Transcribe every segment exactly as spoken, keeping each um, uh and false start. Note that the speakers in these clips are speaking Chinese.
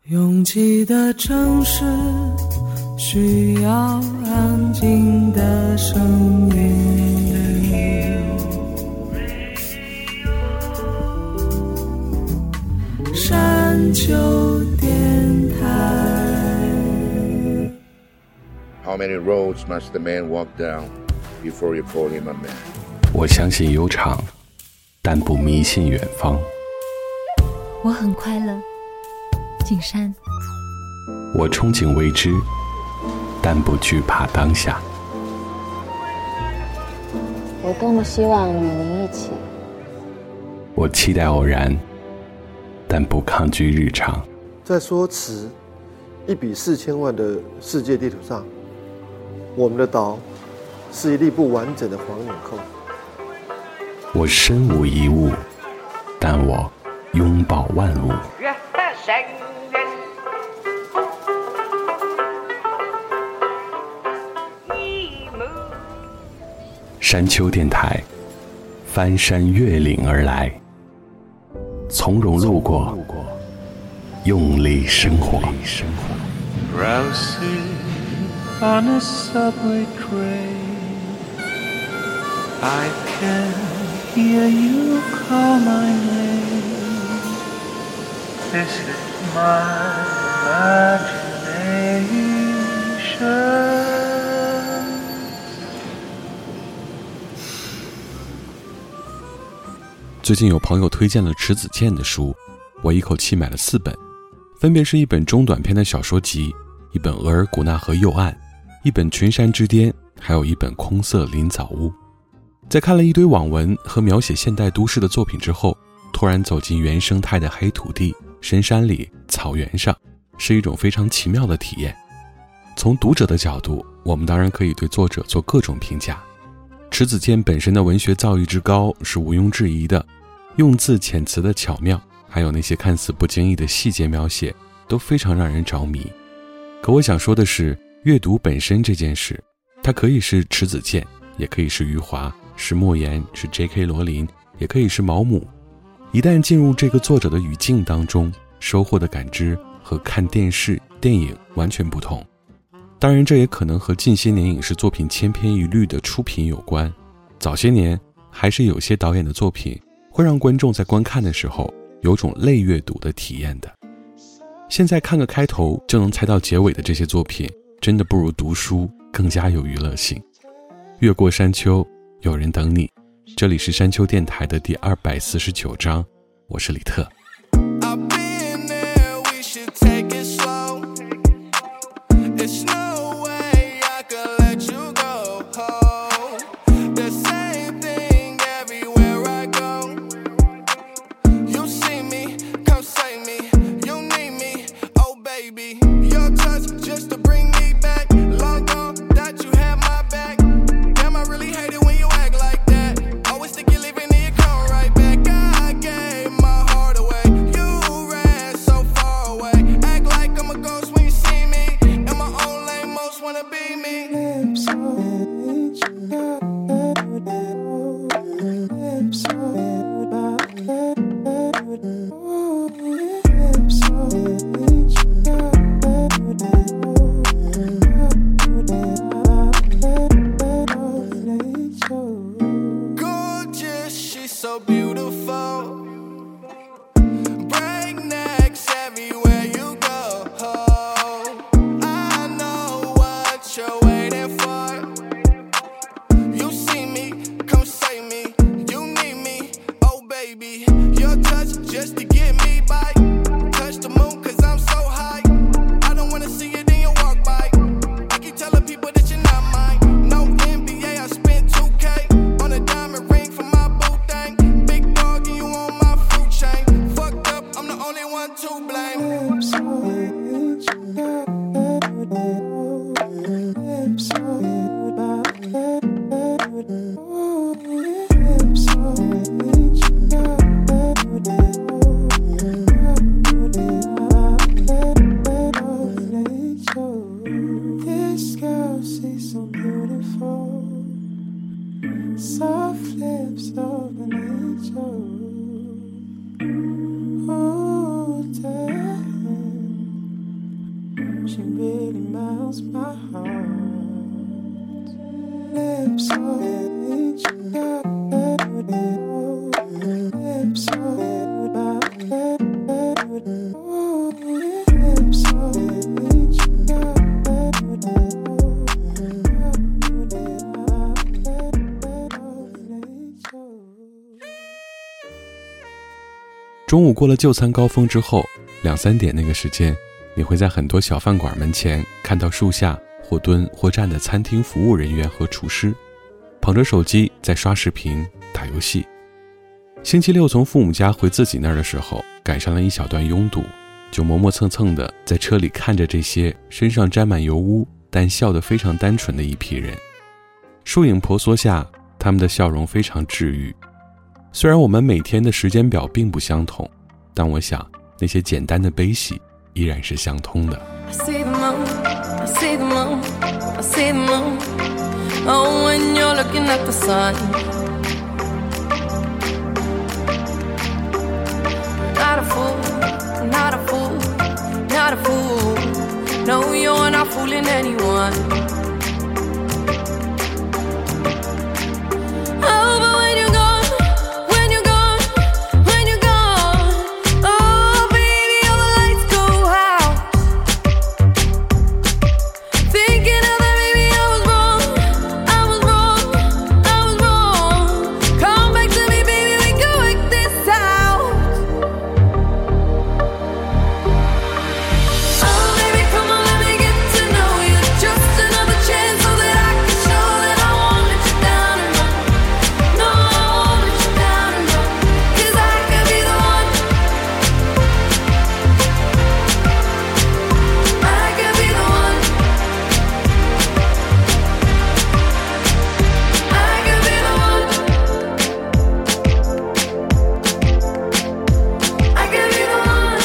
拥挤的城市需要安静的声音，山丘电台。 How many roads must the man walk down before you call him a man? 我相信悠长，但不迷信远方。 我很快乐，景山。 我憧憬未知，但不惧怕当下。 我多么希望与您一起。 我期待偶然，但不抗拒日常。 在说词一比四千万的世界地图上，我们的岛是一粒不完整的黄纽扣。 我身无一物，但我拥抱万物。山丘电台，翻山越岭而来，从容路过，用力生活。 Drowsing on a subway train, I can hear you call my name. This is my imagination. 最近有朋友推荐了迟子建的书，我一口气买了四本，分别是一本中短篇的小说集，一本额尔古纳河右岸，一本群山之巅，还有一本空色林藻屋。在看了一堆网文和描写现代都市的作品之后，突然走进原生态的黑土地、深山里、草原上，是一种非常奇妙的体验。从读者的角度，我们当然可以对作者做各种评价。迟子建本身的文学造诣之高是毋庸置疑的，用字遣词的巧妙，还有那些看似不经意的细节描写，都非常让人着迷。可我想说的是，阅读本身这件事，它可以是迟子建，也可以是余华，是莫言，是 J K 罗琳，也可以是毛姆。一旦进入这个作者的语境当中，收获的感知和看电视、电影完全不同。当然，这也可能和近些年影视作品千篇一律的出品有关。早些年，还是有些导演的作品会让观众在观看的时候有种类阅读的体验的。现在看个开头就能猜到结尾的这些作品，真的不如读书更加有娱乐性。越过山丘，有人等你。这里是山丘电台的第二百四十九章，我是李特。 Away. She really melts my heart. Lips on each other. Lips on lips on each other. 中午过了就餐高峰之后，两三点那个时间，你会在很多小饭馆门前看到树下或蹲或站的餐厅服务人员和厨师，捧着手机在刷视频打游戏。星期六从父母家回自己那儿的时候，赶上了一小段拥堵，就磨磨蹭蹭的在车里看着这些身上沾满油污但笑得非常单纯的一批人。树影婆娑下，他们的笑容非常治愈。虽然我们每天的时间表并不相同，但我想那些简单的悲喜依然是相通的。 I see the moon, I see the moon, I see the moon. Oh, when you're looking at the sun. Not a fool, not a fool, not a fool. No, you're not fooling anyone. Oh, but when you're gone, when you're gone, when you're gone, oh, baby, all the lights go out. Thinking of that, baby, I was wrong, I was wrong, I was wrong. Come back to me, baby, we can work this out. Oh, baby, come on, let me get to know you. Just another chance so that I can show that I won't let you down and run. No, I won't let you down and run. 'Cause I could be the one. I could be the one. I could be the one. I could be the one.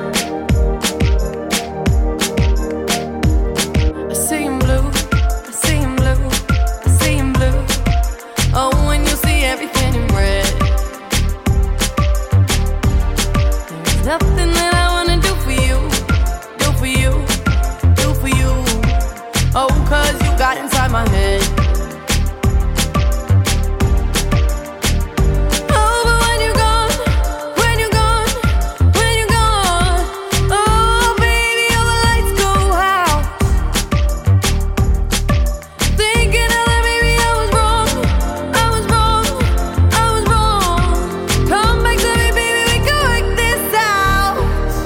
I see him blue, I see him blue, I see him blue. Oh, when you see everything in red. There's nothing that I wanna do for you, do for you, do for you. Oh, 'cause you got inside my head. Oh, but when you're gone, when you're gone, when you're gone, oh, baby, all the lights go out. Thinking of that, baby, I was wrong, I was wrong, I was wrong. Come back to me, baby, we can work this out.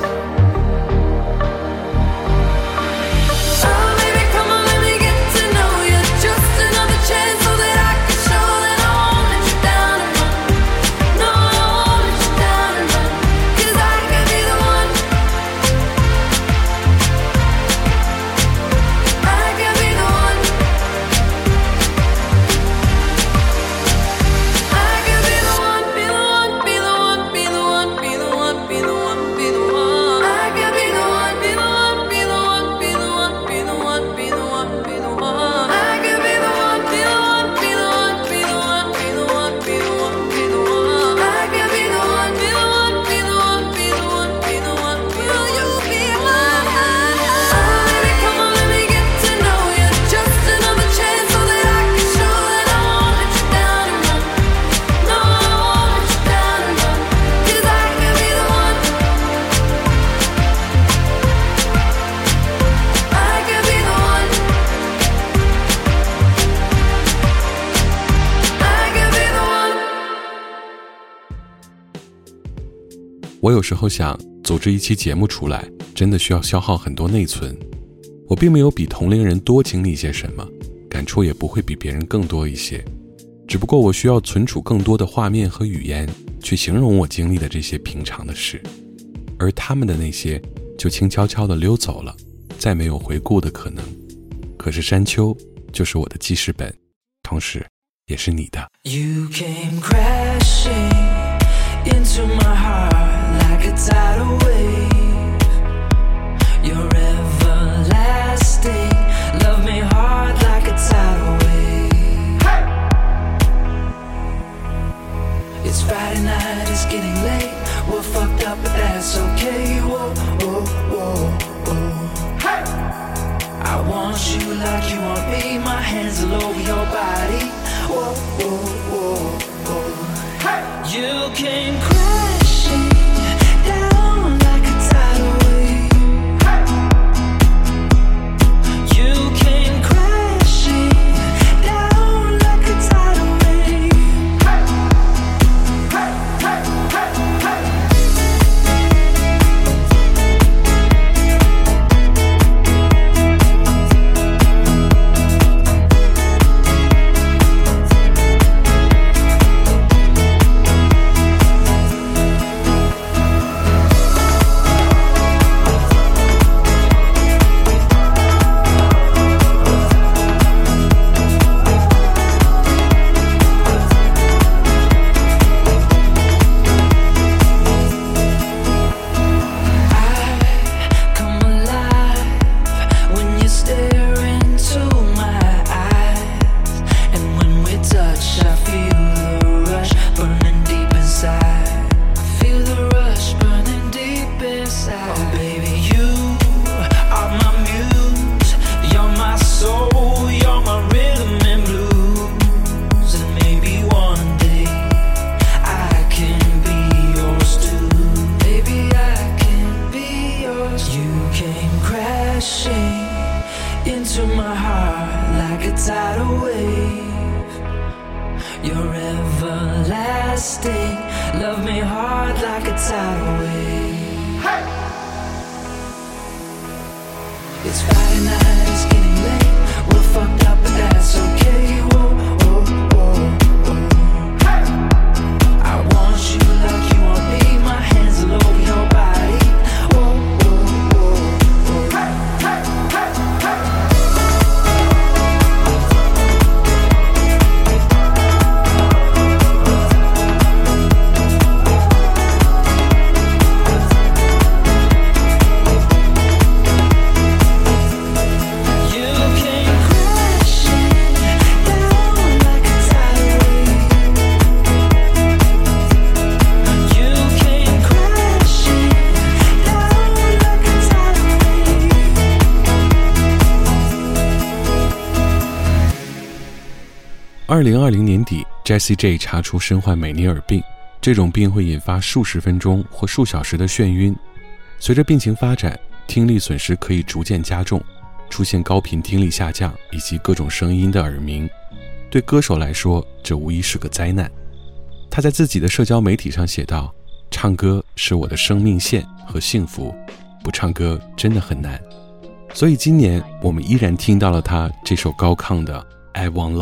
Oh, baby, come on, let me get to know you. Just another chance so that I can show that I won't let you down and run. No, I won't let you down and run. 'Cause I could be the one. I could be the one. I could be the one, be the one, be the one, be the one, be the one, be the one, be the one. I could be the one, be the one, be the one, be the one, be the one, be the one, be the one. I could be the one, be the one, be the one, be the one, be the one, be the one, be the one. I could be the one, be the one, be the one, be the one, be the one. Will you be mine? Oh, baby, come on, let me get to know you. Just another chance so that I can show that I won't let you down and run. No, I won't let you down and run. 'Cause I could be the one. I could be the one. I could be the one. 我有时候想，组织一期节目出来，真的需要消耗很多内存。我并没有比同龄人多经历些什么，感触也不会比别人更多一些，只不过我需要存储更多的画面和语言，去形容我经历的这些平常的事，而他们的那些就轻悄悄地溜走了，再没有回顾的可能。可是山丘就是我的记事本，同时也是你的。 You came crashing into my heart like a tidal wave. You're everlasting. Love me hard like a tidal wave. It's Friday night, it's getting late. We're fucked up, but that's okay. Whoa, whoa, whoa, whoa. came crashing down like a tidal wave. You came crashing down like a tidal wave. Into my heart like a tidal wave. You're everlasting. Love me hard like a tidal wave. Hey! It's Friday night, it's getting late. We're fucked up, but that's okay. Whoa, whoa, whoa, whoa. Hey! I want you like you want me. My hands all over your body. Whoa, whoa, whoa, whoa. Hey, hey, hey, hey. 二零二零年底 Jessie J 查出身患美尼尔病，这种病会引发数十分钟或数小时的眩晕。随着病情发展，听力损失可以逐渐加重，出现高频听力下降以及各种声音的耳鸣。对歌手来说，这无疑是个灾难。他在自己的社交媒体上写道：唱歌是我的生命线和幸福，不唱歌真的很难。所以今年我们依然听到了他这首高亢的 I Want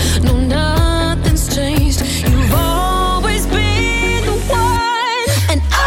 love.And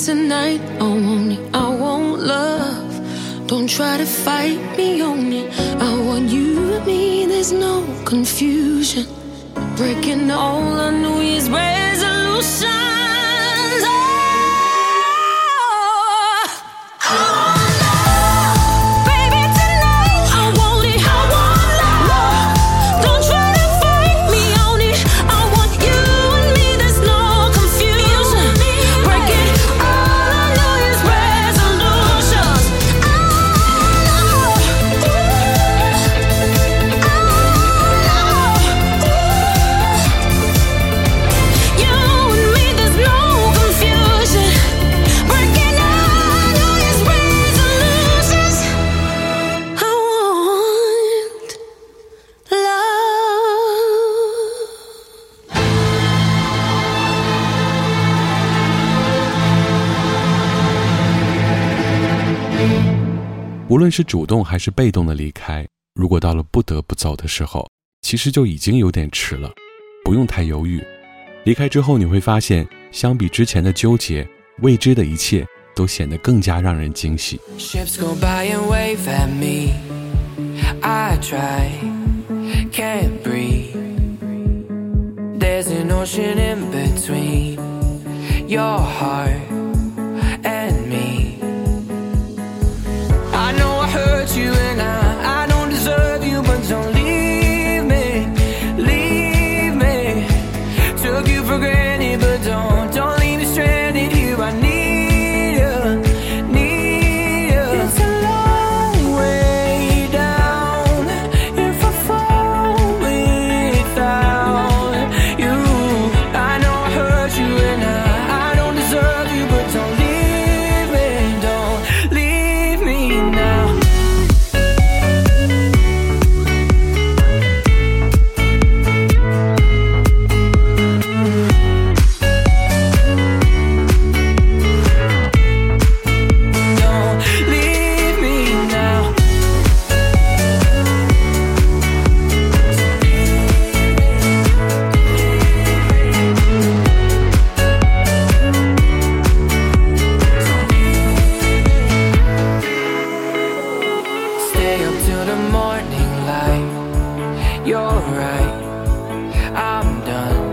tonight. I want it, I want love. Don't try to fight me on it. I want you and me, there's no confusion. Breaking all our New Year's resolutions. 无论是主动还是被动的离开，如果到了不得不走的时候，其实就已经有点迟了，不用太犹豫。离开之后你会发现，相比之前的纠结，未知的一切都显得更加让人惊喜。 Ships go by and wave at me. I try, can't breathe. There's an ocean in between your heart and me. I know I hurt you and I, I don't deserve you, but don't leave me, leave me. Took you for granted, but don't, don't leave me stranded here. I need you, need you. It's a long way down if I fall without you. I know I hurt you and I, I don't deserve you, but don't leave me, don't leave me now. Stay up till the morning light. You're right, I'm done.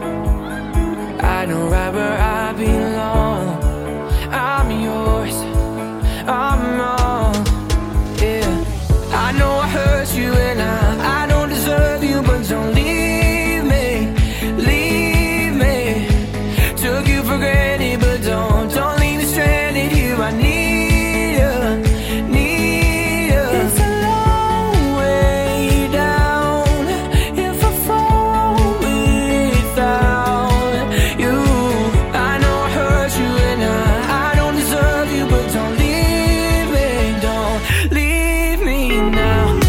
I know right where I belong. I'm yours, I'm wrong. Yeah, I know I hurt you and I, I don't deserve you, but don't leave me, leave me. Took you for granted, but don't, don't leave me stranded here. I need you, need you. It's a long way down if I fall without you. I know I hurt you and I, I don't deserve you, but don't leave me, don't leave me now.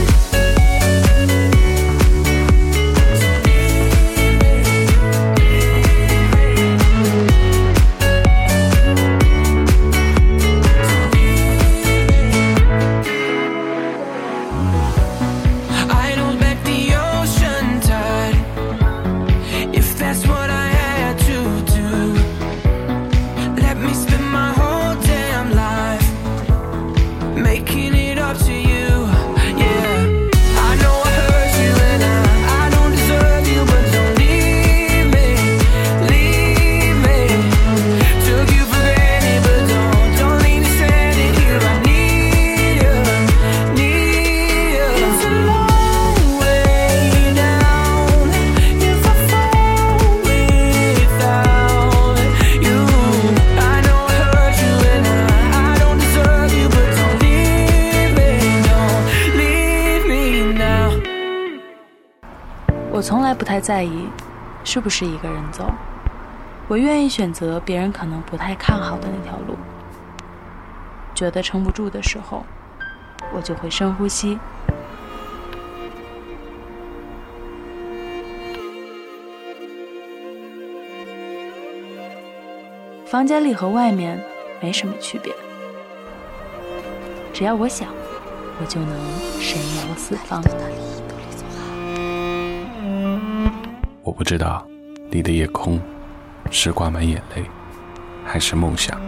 I don't bet the ocean tide if that's what I had to do. Let me spend my whole damn life making it up to you. Yeah, I know I hurt you and I, I don't deserve you, but don't leave me, leave me. Took you for granted, but don't, don't leave me stranded here. I need you, need you. It's a long way down if I fall without you. I know I hurt you and I, I don't deserve you, but don't leave me, don't leave me now. 我从来不太在意是不是一个人走，我愿意选择别人可能不太看好的那条路。觉得撑不住的时候，我就会深呼吸。房间里和外面没什么区别，只要我想，我就能神游四方。 我不知道你的夜空是挂满眼泪， 还是梦想？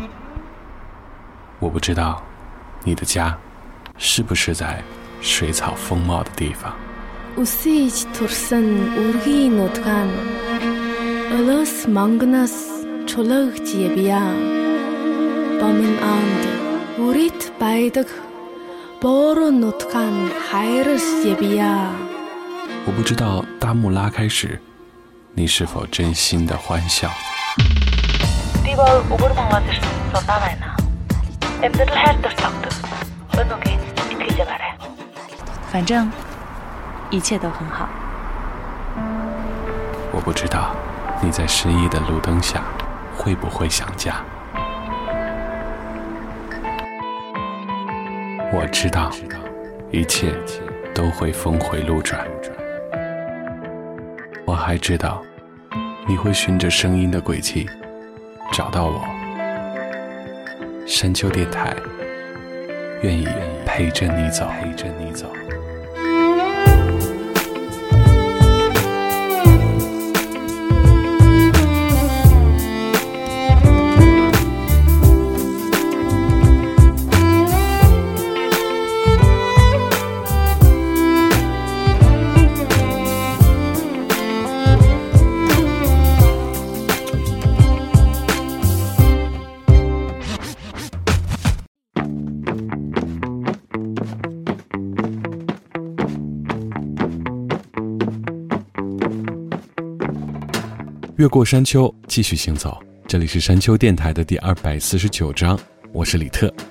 我不知道你的家是不是在水草丰茂的地方。 Үсэж турсан үргийн нутгаан Өлөөс мангнаас чулаагч явъя. Бомын анд үрит байдаг бороо нутгаан хайрс явъя. 我不知道大幕拉开时你是否真心的欢笑。 Би бол өгөр монгол ирсэн сулаа байна. Амьдрал хайр дуртагдаг. Өнөөгийн итгэж байгаарай. 反正一切都很好。 我不知道你在失意的路灯下会不会想家。我知道一切都会峰回路转。我还知道你会循着声音的轨迹找到我。山丘电台愿意陪着你走，陪着你走。 越过山丘，继续行走。这里是山丘电台的第二百四十九章，我是李特。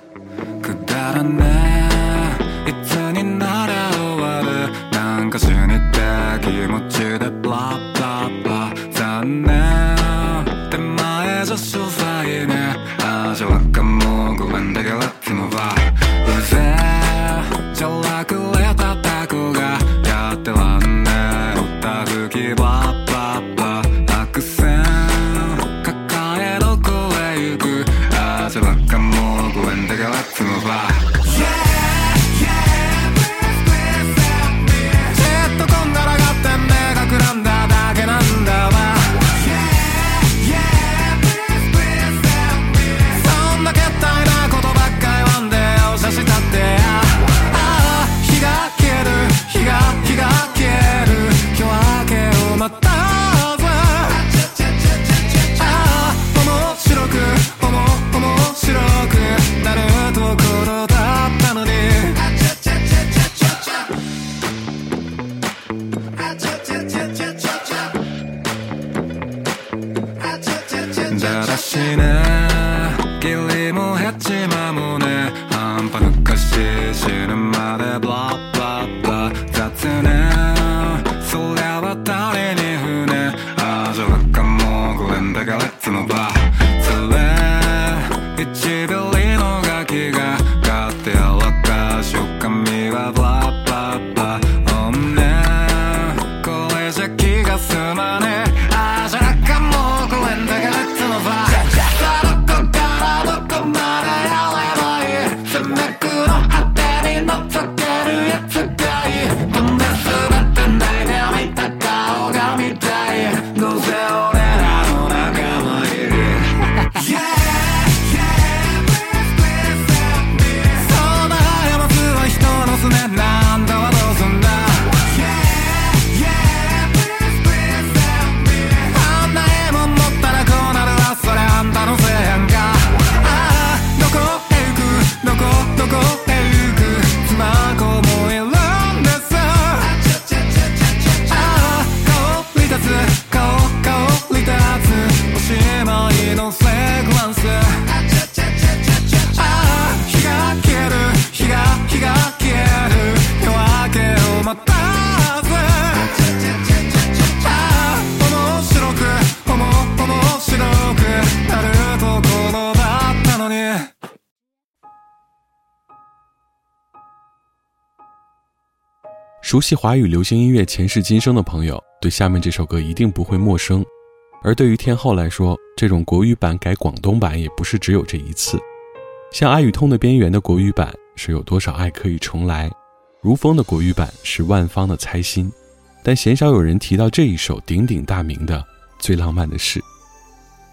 熟悉华语流行音乐前世今生的朋友，对下面这首歌一定不会陌生。而对于天后来说，这种国语版改广东版也不是只有这一次。像爱与痛的边缘的国语版是有多少爱可以重来，如风的国语版是万芳的猜心，但鲜少有人提到这一首鼎鼎大名的最浪漫的事。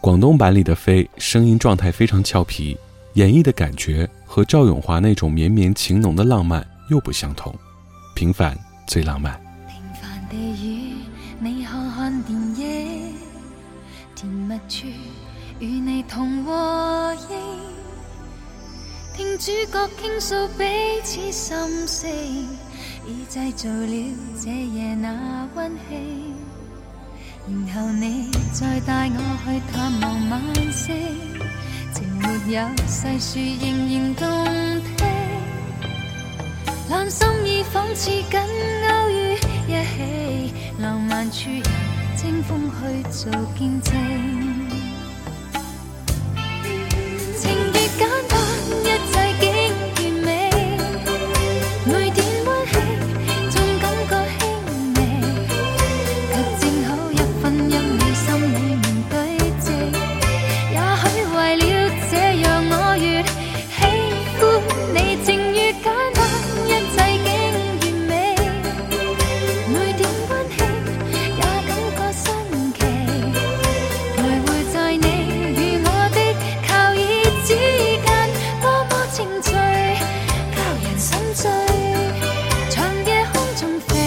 广东版里的飞声音状态非常俏皮，演绎的感觉和赵咏华那种绵绵情浓的浪漫又不相同。平凡最浪漫。 平凡地与你看看电影，甜蜜处与你同和应，听主角倾诉彼此心声，已製造了這夜那溫馨。然後你再帶我去探望晚星，情沒有細說仍然動聽，兩心意仿似緊勾於一起，浪漫處由清風去做見證。情越簡單，一切竟完美，每點溫馨總感覺輕微，卻正好一分一秒心裏面對峙。也許為了這樣我越喜歡你，情越簡單，一切竟完美，每點溫馨也感覺新奇，徘徊在你與我的靠椅之間，多麼情趣，教人心醉，長夜空中飛。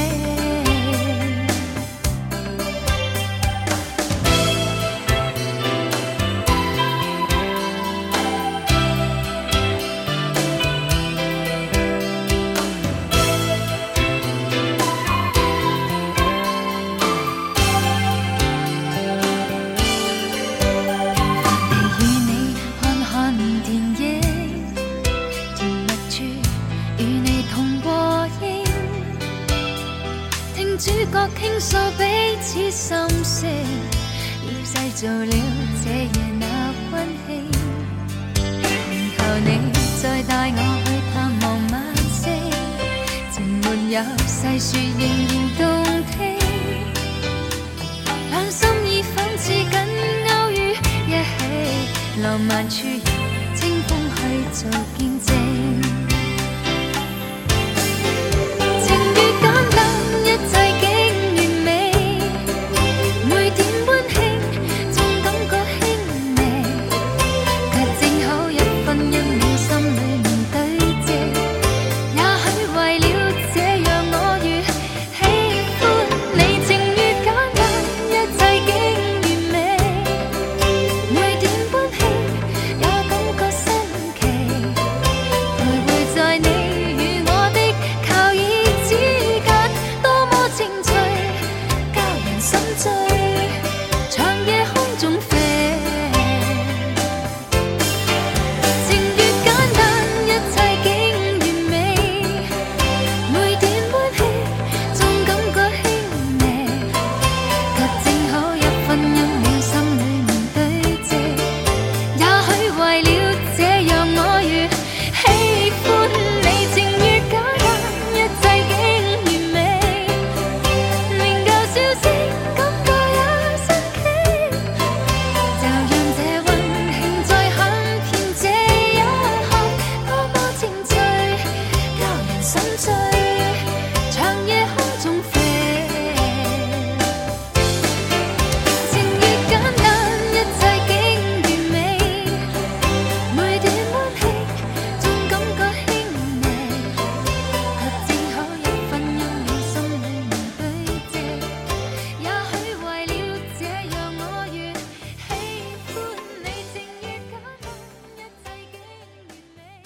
與你看看電影，甜蜜處與你同和應，聽主角傾訴彼此心聲，已製造了這夜那溫馨。然後你再帶我去探望晚星，情沒有細說仍然動聽，兩心意仿似緊勾於一起，浪漫處由清風去做見證。情越簡單，一切竟完美，每點溫馨總感覺輕微，卻正好一分一秒心裏面對峙。也許為了這樣我越喜歡你，情越簡單，一切竟完美，每點溫馨也感覺新奇，徘徊在你與我的靠椅之間，多麼情趣，教人心醉，長夜空中飛。情越簡單，一切竟完美，每點溫馨總感覺輕微，卻正好一分一秒心裏面對峙。也許為了這樣我越喜歡你，情越簡單，一切竟完美，令舊笑聲感覺也新奇，就讓這溫馨再響遍這一刻，多麼情趣，教人心醉，長夜空中飛。情越簡單，一切竟完美，每點溫馨總感覺輕微，卻正好一分一秒心裏面對峙。也許為了這樣我越喜歡你，情越簡單，一切竟完美。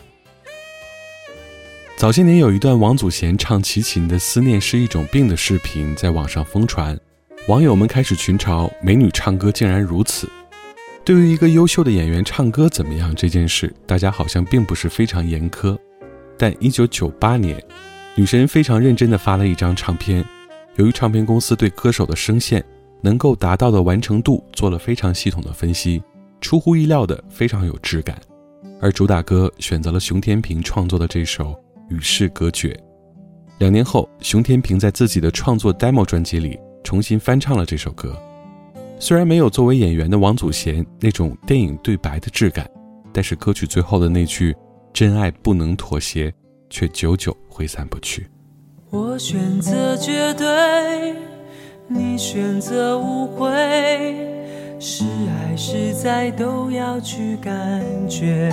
早些年有一段王祖賢唱齐秦的《思念是一种病》的视频在网上疯传，网友们开始群嘲美女唱歌竟然如此。对于一个优秀的演员唱歌怎么样这件事，大家好像并不是非常严苛。但一九九八年，女神非常认真地发了一张唱片，由于唱片公司对歌手的声线能够达到的完成度做了非常系统的分析，出乎意料的非常有质感。而主打歌选择了熊天平创作的这首《与世隔绝》。两年后，熊天平在自己的创作 demo 专辑里重新翻唱了这首歌。虽然没有作为演员的王祖贤那种电影对白的质感，但是歌曲最后的那句真爱不能妥协却久久挥散不去。 我选择绝对，你选择无悔， 是爱是在都要去感觉，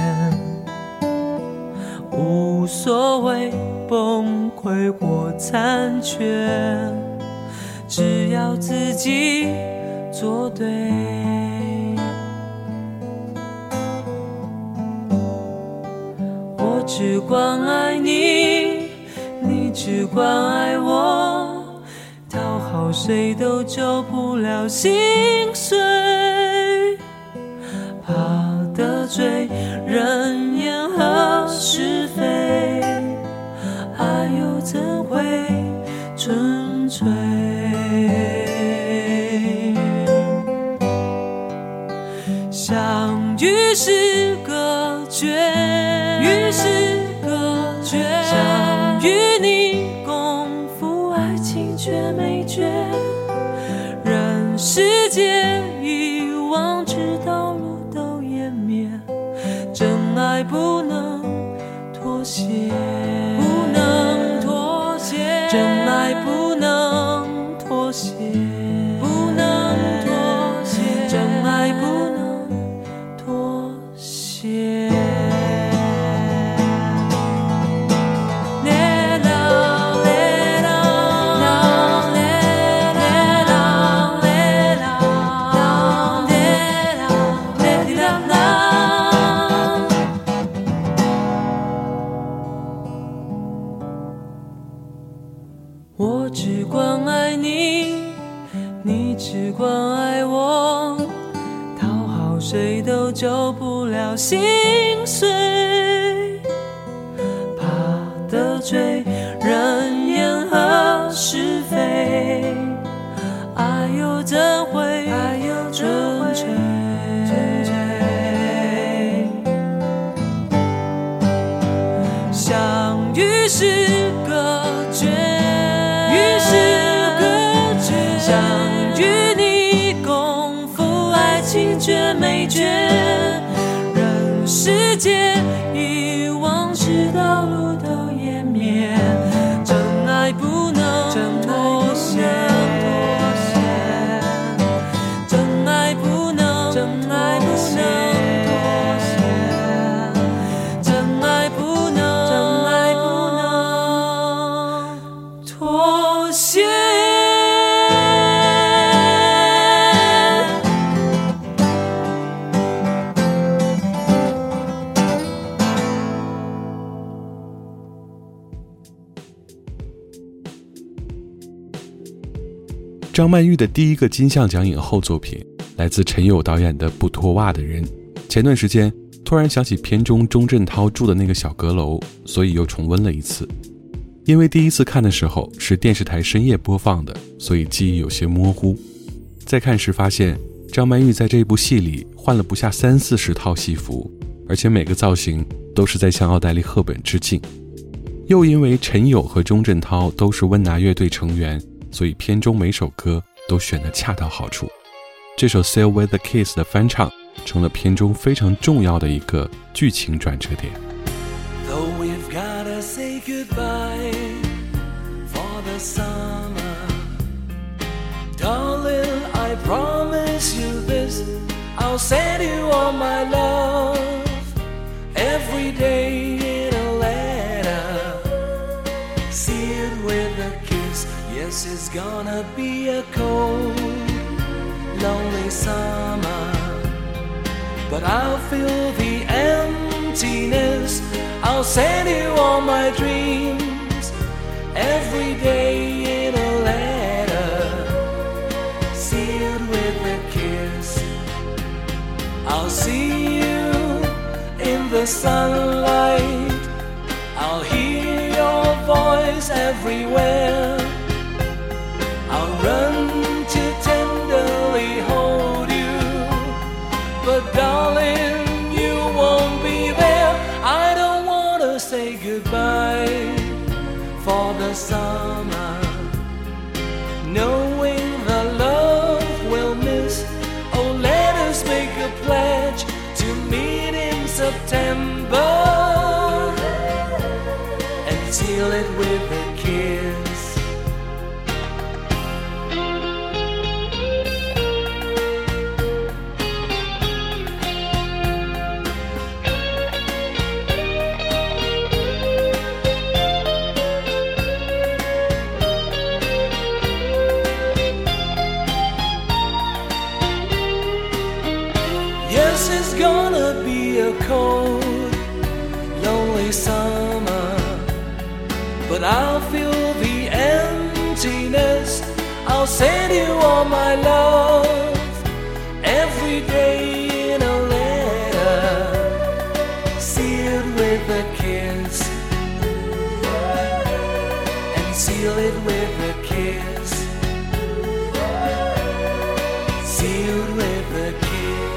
无所谓崩溃或残缺，只要自己做对。我只关爱你，你只关爱我，讨好谁都救不了心碎，怕得罪人言和是非，爱又怎会纯粹？相遇是隔绝，遇是隔绝，相遇你共赴爱情却没觉，人世间遗忘直到路都湮灭，真爱不能妥协，不能妥协，真爱不能妥协，不能妥协，真爱不能妥协。我只关爱你，你只关爱我，讨好谁都救不了心碎，怕得罪人言和是非，爱又怎会纯粹？相遇是隔绝，相遇你共赴爱情却没觉，人世间遗忘直到路都湮灭，真爱不能妥协，真爱不能，真爱不能妥协，真爱不能，真爱不能妥协。 张曼玉的第一个金像奖影后作品来自陈友导演的《不脱袜的人》。前段时间突然想起片中钟镇涛住的那个小阁楼，所以又重温了一次。因为第一次看的时候是电视台深夜播放的，所以记忆有些模糊。再看时发现张曼玉在这部戏里换了不下三四十套戏服，而且每个造型都是在向奥黛丽·赫本致敬。又因为陈友和钟镇涛都是温拿乐队成员，所以片中每首歌都选得恰到好处。这首 Sail with a Kiss 的翻唱成了片中非常重要的一个剧情转折点。 Though we've gotta say goodbye for the summer, darling, I promise you this, I'll send you all my love every day in a letter, sealed with a kiss. Yes, it's gonna be a cold, lonely summer, but I'll fill the emptiness. I'll send you all my dreams every day in a letter, sealed with a kiss. I'll see you in the sunlight, I'll hear your voice everywhere, I'll run to tenderly hold you, but darling, you won't be there. I don't wanna say goodbye for the summer, knowing the love we'll miss. Oh, let us make a pledge to meet in September and seal it with a kiss. Yes, it's gonna be a cold, lonely summer, but I'll feel the emptiness. I'll send you all my love every day in a letter, sealed with a kiss, and seal it with a kiss, sealed with a kiss.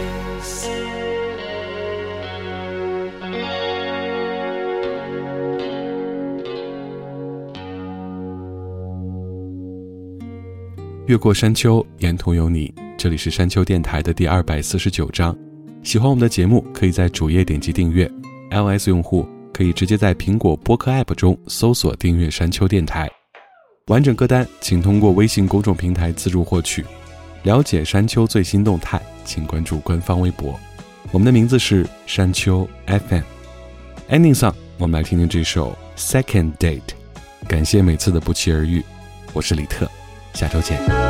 越过山丘，沿途有你。这里是山丘电台的第二百四十九章。喜欢我们的节目，可以在主页点击订阅。iOS 用户可以直接在苹果播客 App 中搜索订阅山丘电台。完整歌单请通过微信公众平台自助获取。了解山丘最新动态，请关注官方微博。我们的名字是山丘 F M。Ending song， 我们来听听这首 Second Date。感谢每次的不期而遇，我是李特。下周见。